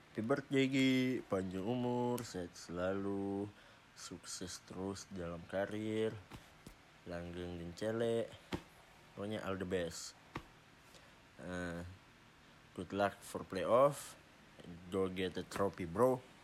Happy birthday Gi, panjang umur, sehat selalu, sukses terus dalam karir, langgeng dan cele, pokoknya all the best. Good luck for playoff, go get a trophy bro.